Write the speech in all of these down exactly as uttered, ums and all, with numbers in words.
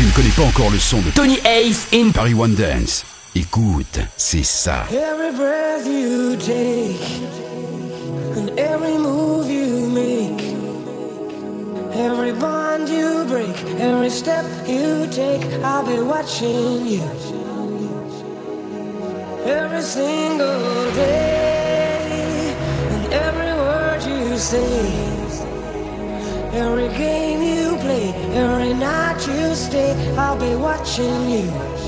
tu ne connais pas encore le son de Tony Ace in Paris One Dance, écoute, c'est ça. Every breath you take and every move you make, every bond you break, every step you take, I'll be watching you. Every single day and every word you say, every game you play, every night you stay, I'll be watching you.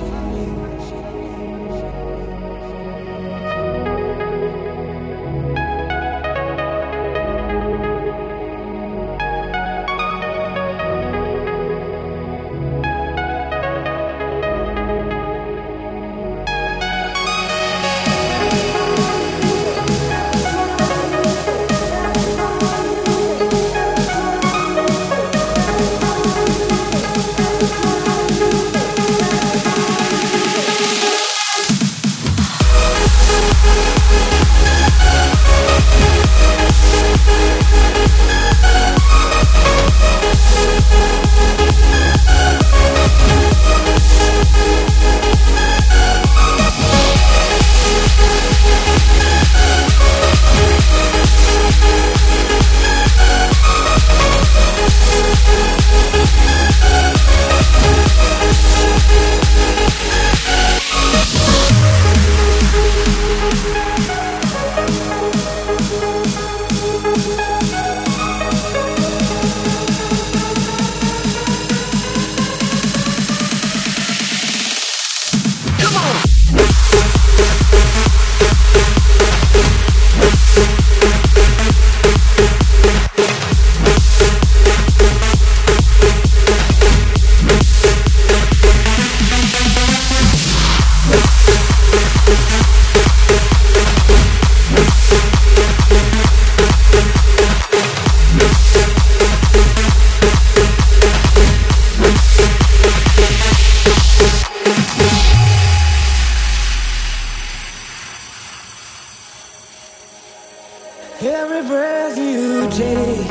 Every breath you take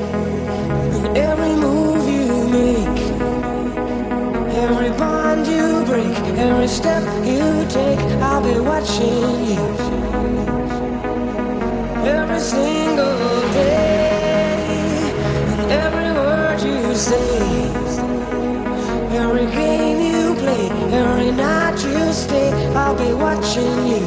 and every move you make, every bond you break, every step you take, I'll be watching you. Every single day and every word you say, every game you play, every night you stay, I'll be watching you.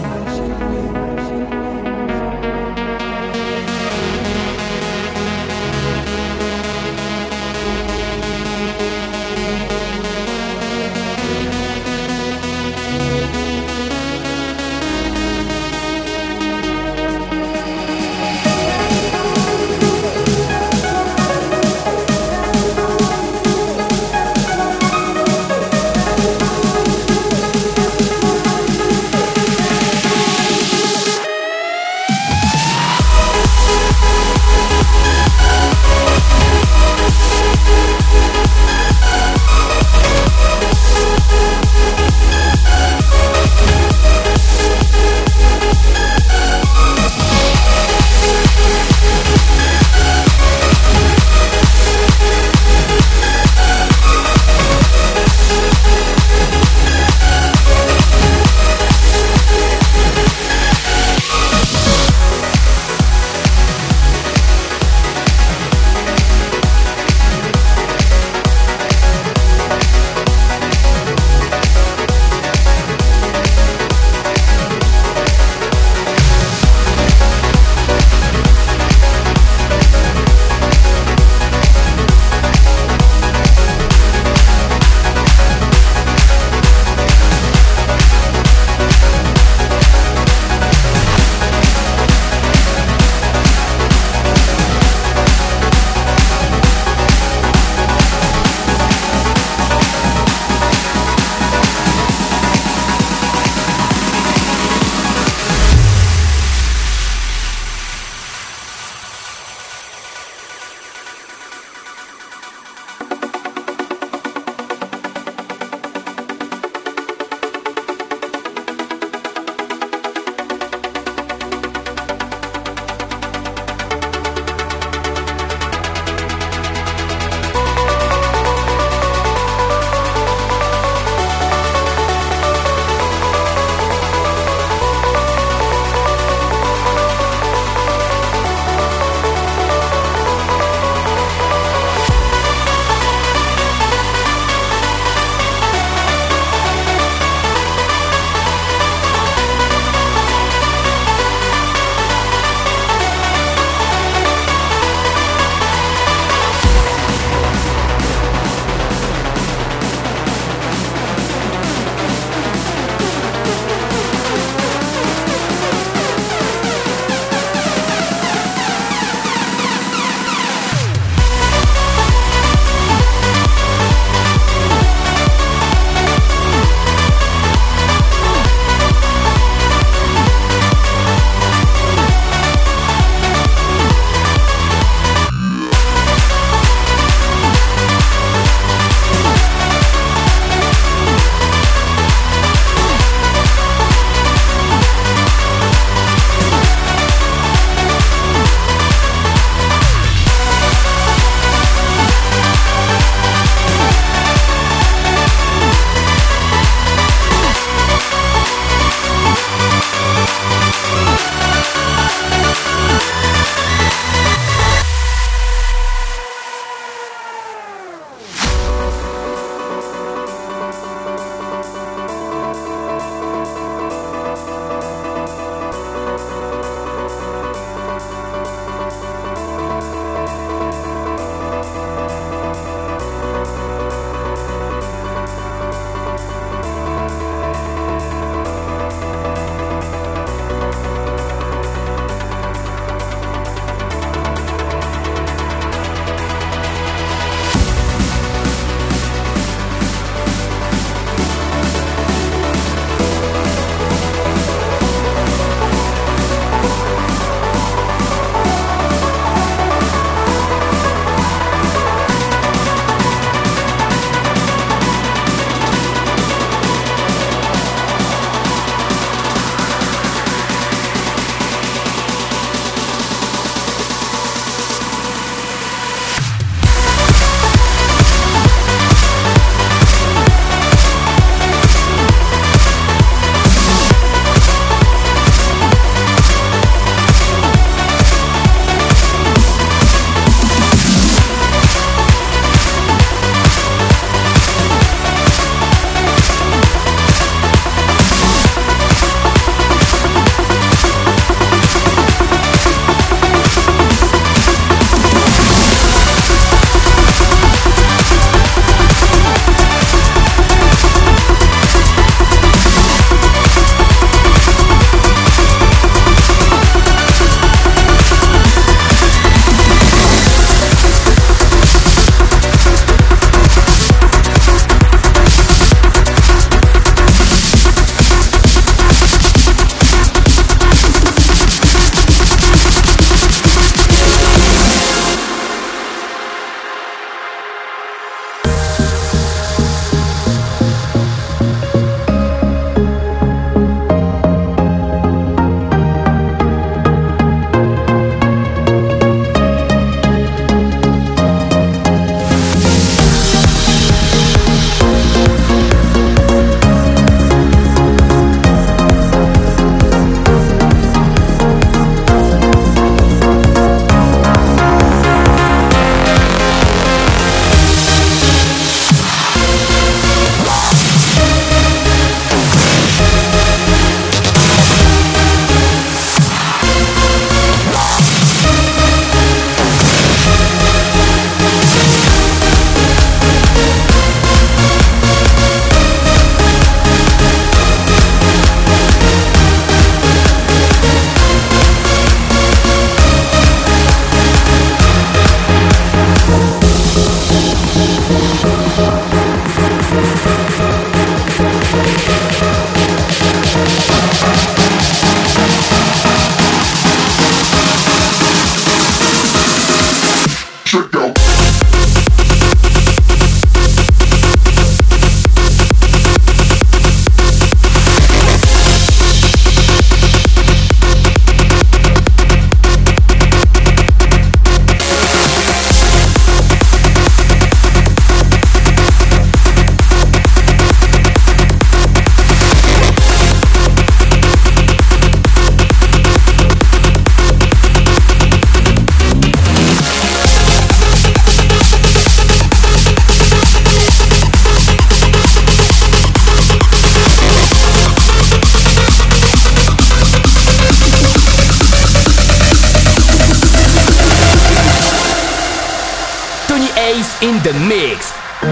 in the mix.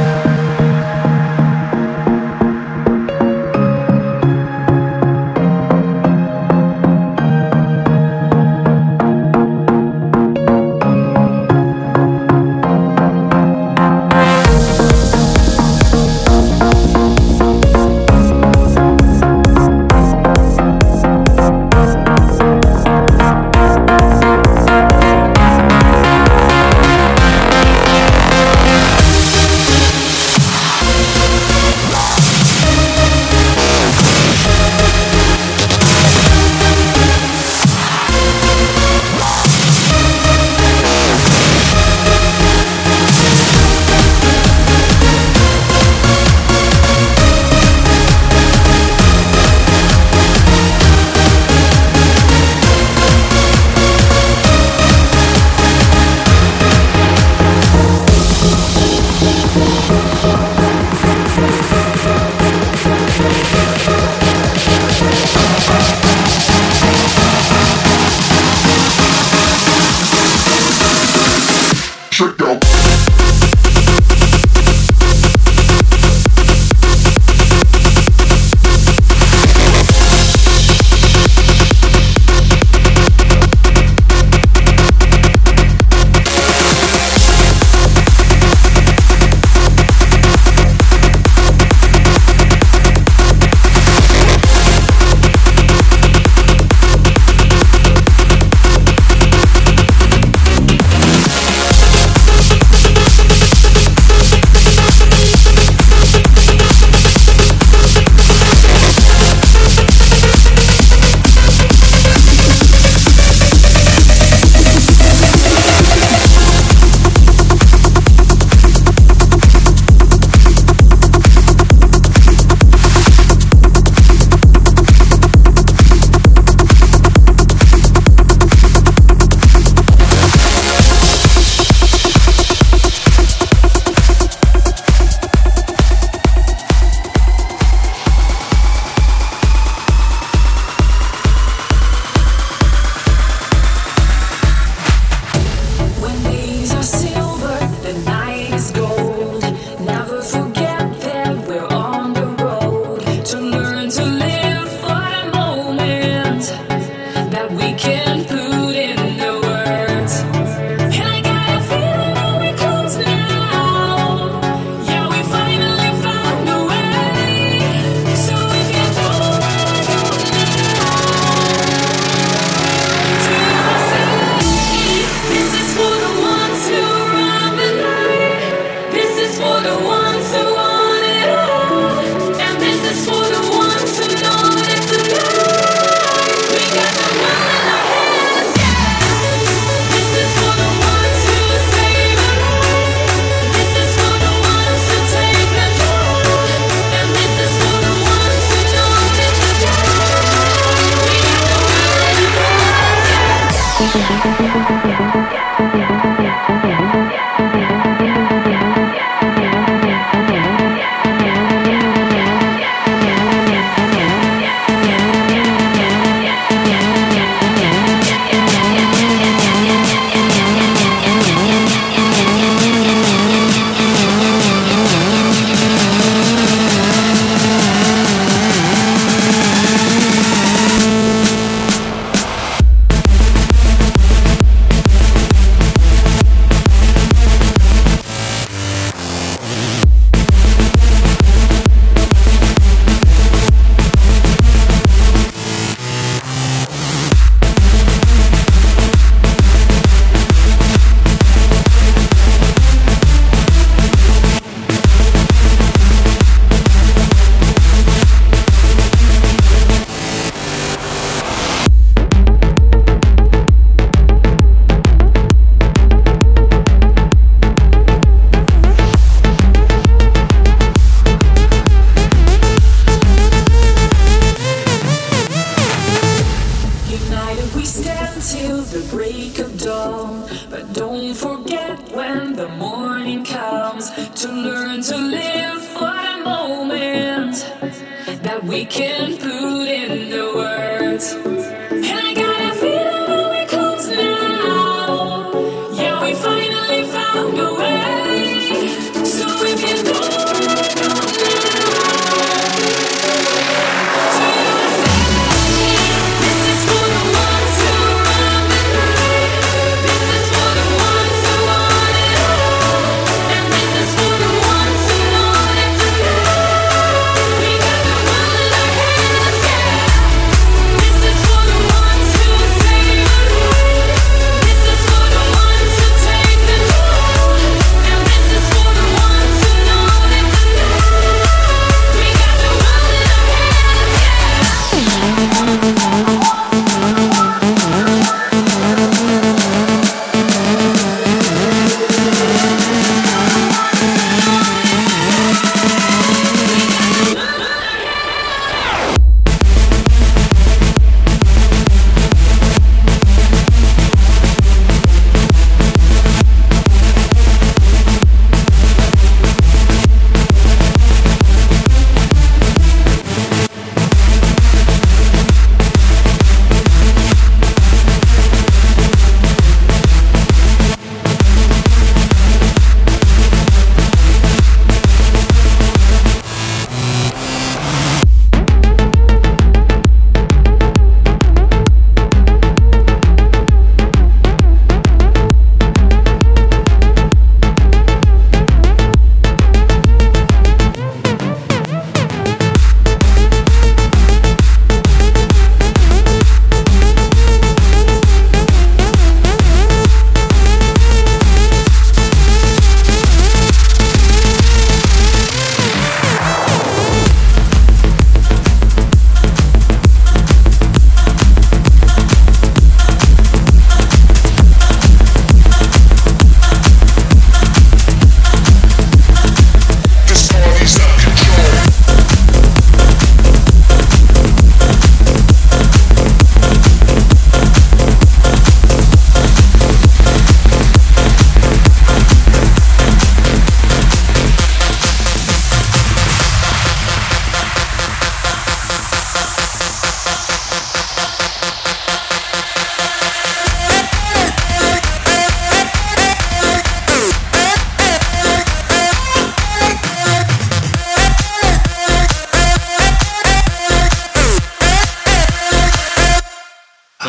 We can put in the words. And I got a feeling that we're close now. Yeah, we finally found a way.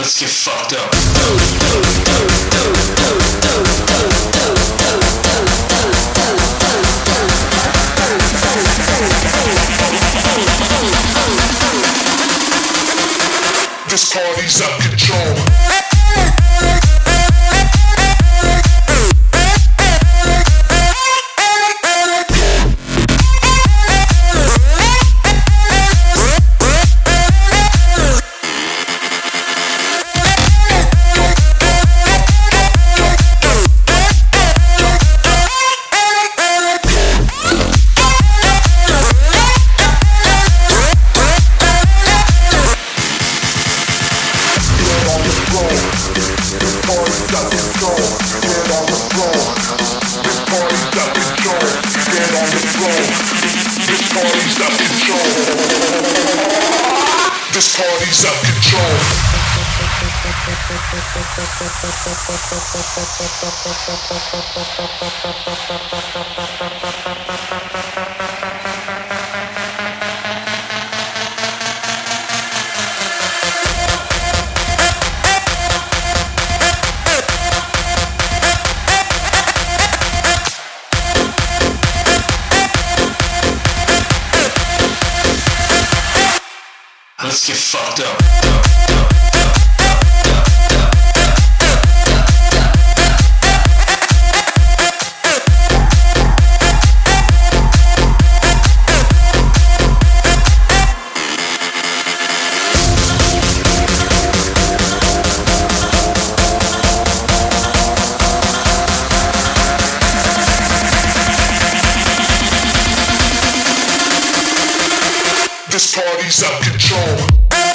Let's get fucked up. This party's out of control. This party's out of control. Let's get fucked up. This party's out of control.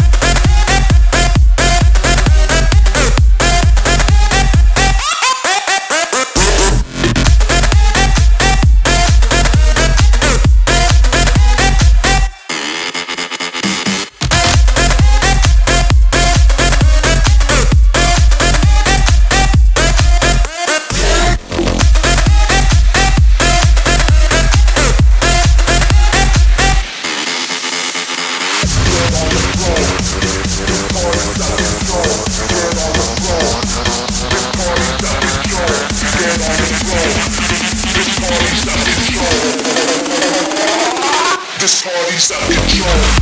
This party's out of control.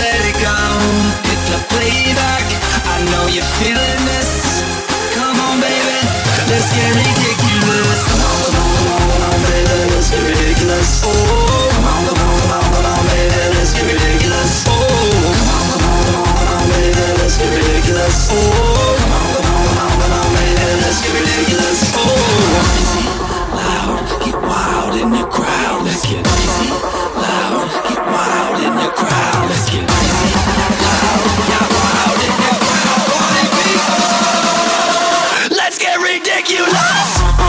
let it go. Hit the playback, I know you're feeling this. Come on, baby, let's get ridiculous. Come on, come on, come on, baby, let's get ridiculous. Oh, come on, come on, come on, come on, baby, let's get ridiculous. Oh, come on, come on, come on, come on, baby, let's get ridiculous. Oh, come on, come on, come on, come on, baby, let's get ridiculous. Oh, crazy, loud, get wild in the crowd. Let's get crazy, loud, get wild in the crowd. Let's get crazy, loud, get wild in the crowd. Party people, let's get ridiculous.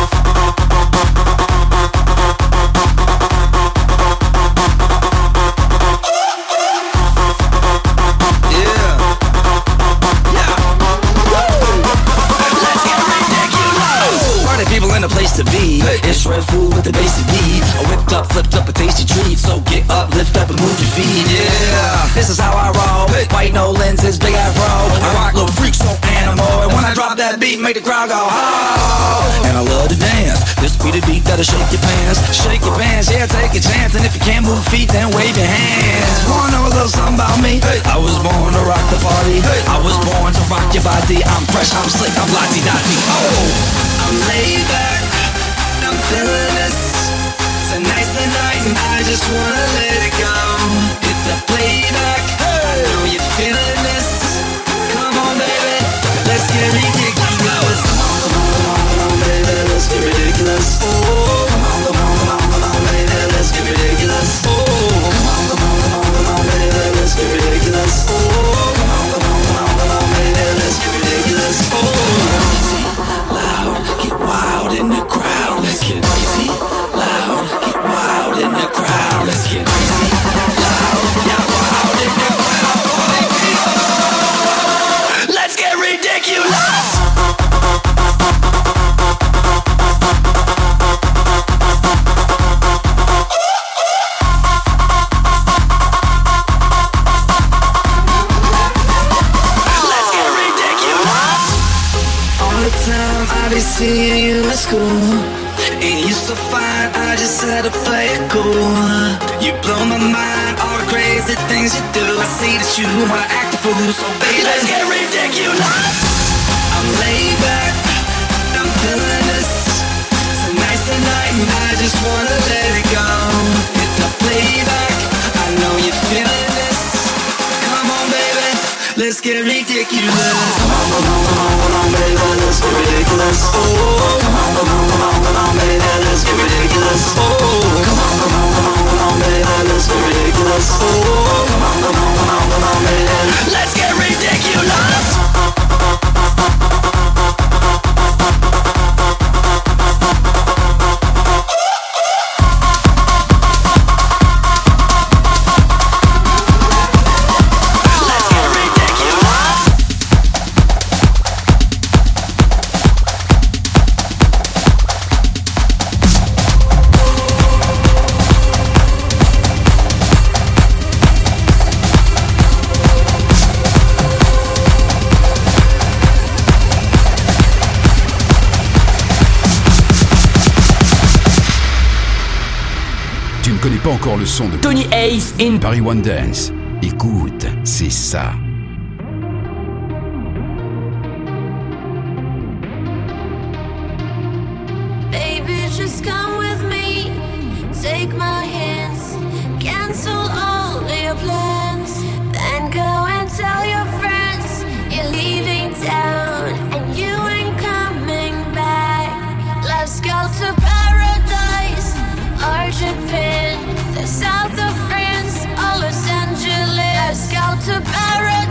A place to be. It's red food with the basic needs. I whipped up, flipped up a tasty treat. So get up, lift up and move your feet. Yeah, this is how I roll. White no lenses, big afro. I rock little freak, so animal. And when I drop that beat, make the crowd go oh. And I love to dance. This be the beat that'll shake your pants. Shake your pants, yeah, take a chance. And if you can't move feet, then wave your hands. Wanna know a little something about me? I was born to rock the party. I was born to rock your body. I'm fresh, I'm slick, I'm lottie-dottie. Oh, I'm laid back, I'm feeling this. It's a nice night and I just wanna let it go. Hit the playback, I know you're feeling this. Come on, baby, let's get ridiculous. Come on, come on, come on, come on, baby, let's get ridiculous. Oh, come on, come on, come on, come on, baby, let's get ridiculous. Oh, come on, come on, come on, come on, baby, let's get ridiculous. Oh, come on, come on, come on, come on, baby, let's get ridiculous. Oh, crazy, loud, get wild in the crowd. Let's get crazy, loud, get wild in the crowd. Let's get crazy, loud, get wild in the crowd. Party people, let's get ridiculous. I be seeing you at school. Ain't you so fine, I just had to play it cool. You blow my mind, all the crazy things you do. I see that you wanna act a fool, so baby, let's get ridiculous. I'm laid back, I'm feeling this. It's a nice night and I just wanna let it go. Hit the playback, I know you're feeling this. Come on, baby, let's get ridiculous. Come on, come on, come on, come on, baby, let's get ridiculous. Oh, come on, come on, come on, come on, baby, let's get ridiculous. Oh, come on, come on, come on, come on, baby, let's get ridiculous. Oh, come on, come on, come on, come on, baby, let's get ridiculous. Tu ne connais pas encore le son de Tony Ace in Paris One Dance. Écoute, c'est ça. Baby, just come with me. Take my hands. Cancel all your plans. Then go and tell your friends you're leaving town and you ain't coming back. Let's go to paradise or Japan, the south of France or Los Angeles. Let's go to paradise.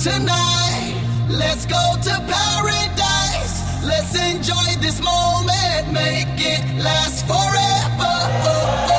tonight. Let's go to paradise. Let's enjoy this moment. Make it last forever. Oh, oh.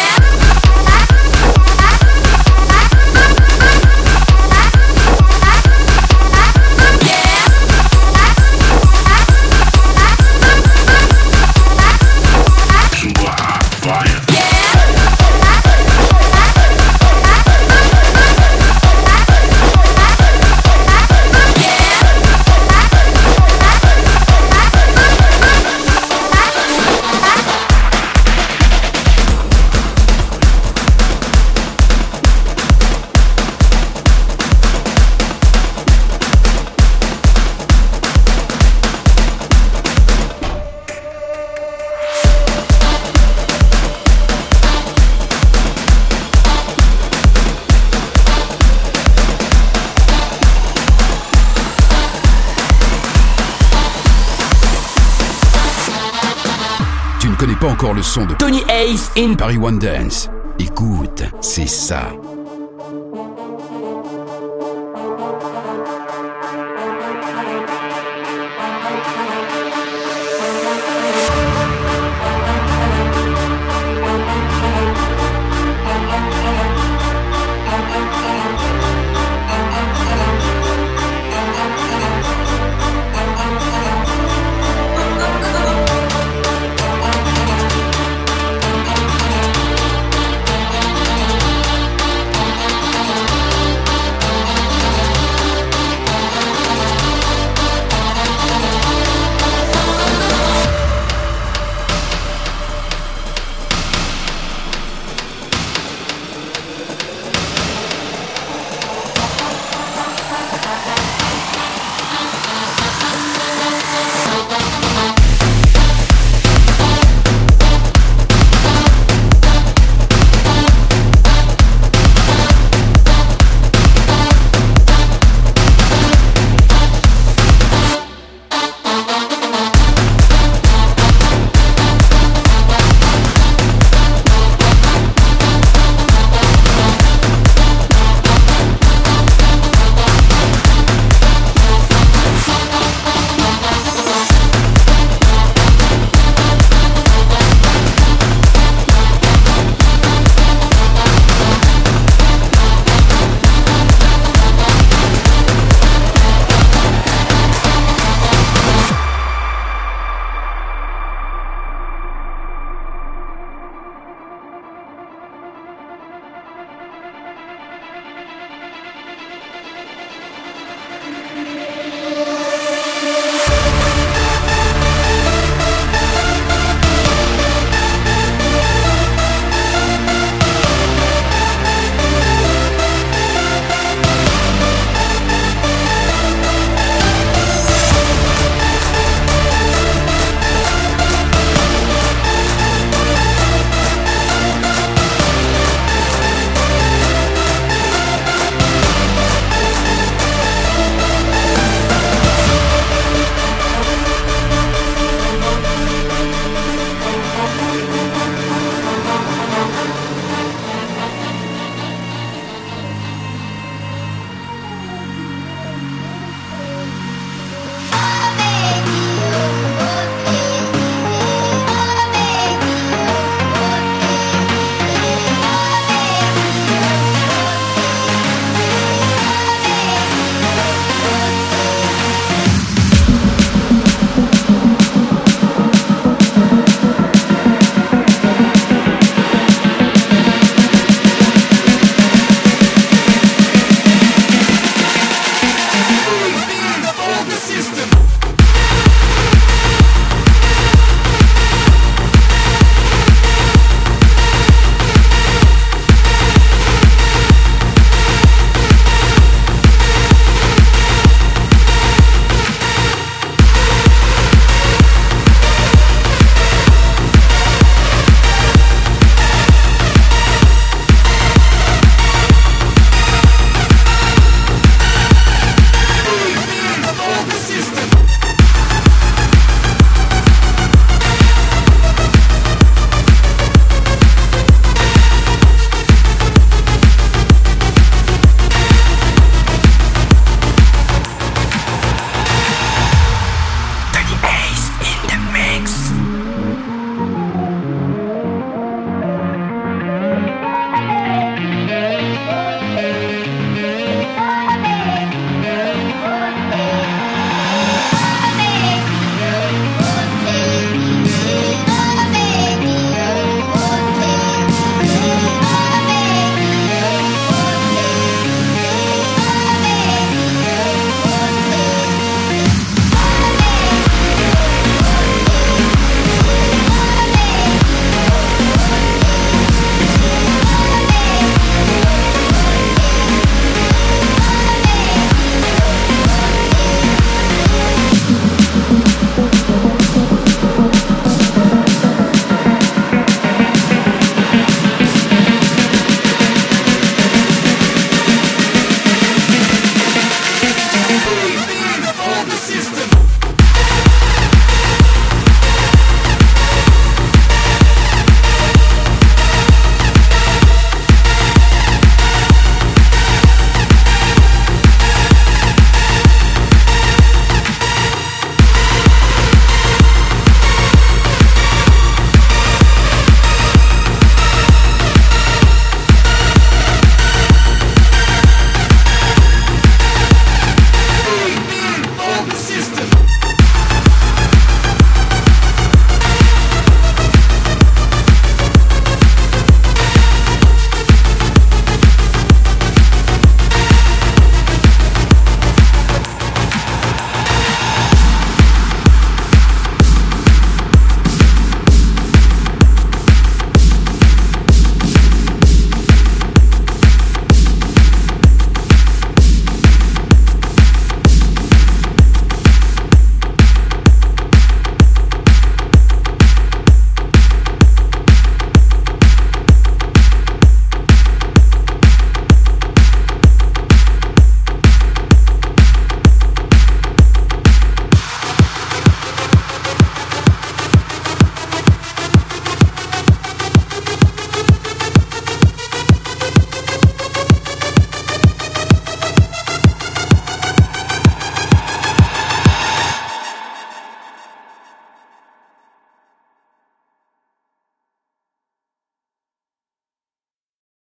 Pas encore le son de Tony Ace in Paris One Dance. Écoute, c'est ça.